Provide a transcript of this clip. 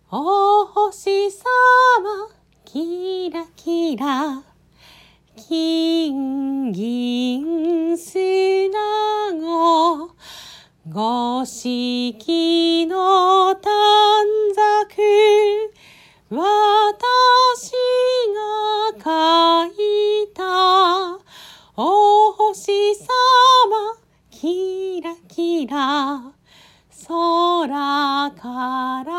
お星さまキラキラ金銀砂子五色の短冊私が書いたお星さまキラキラ空から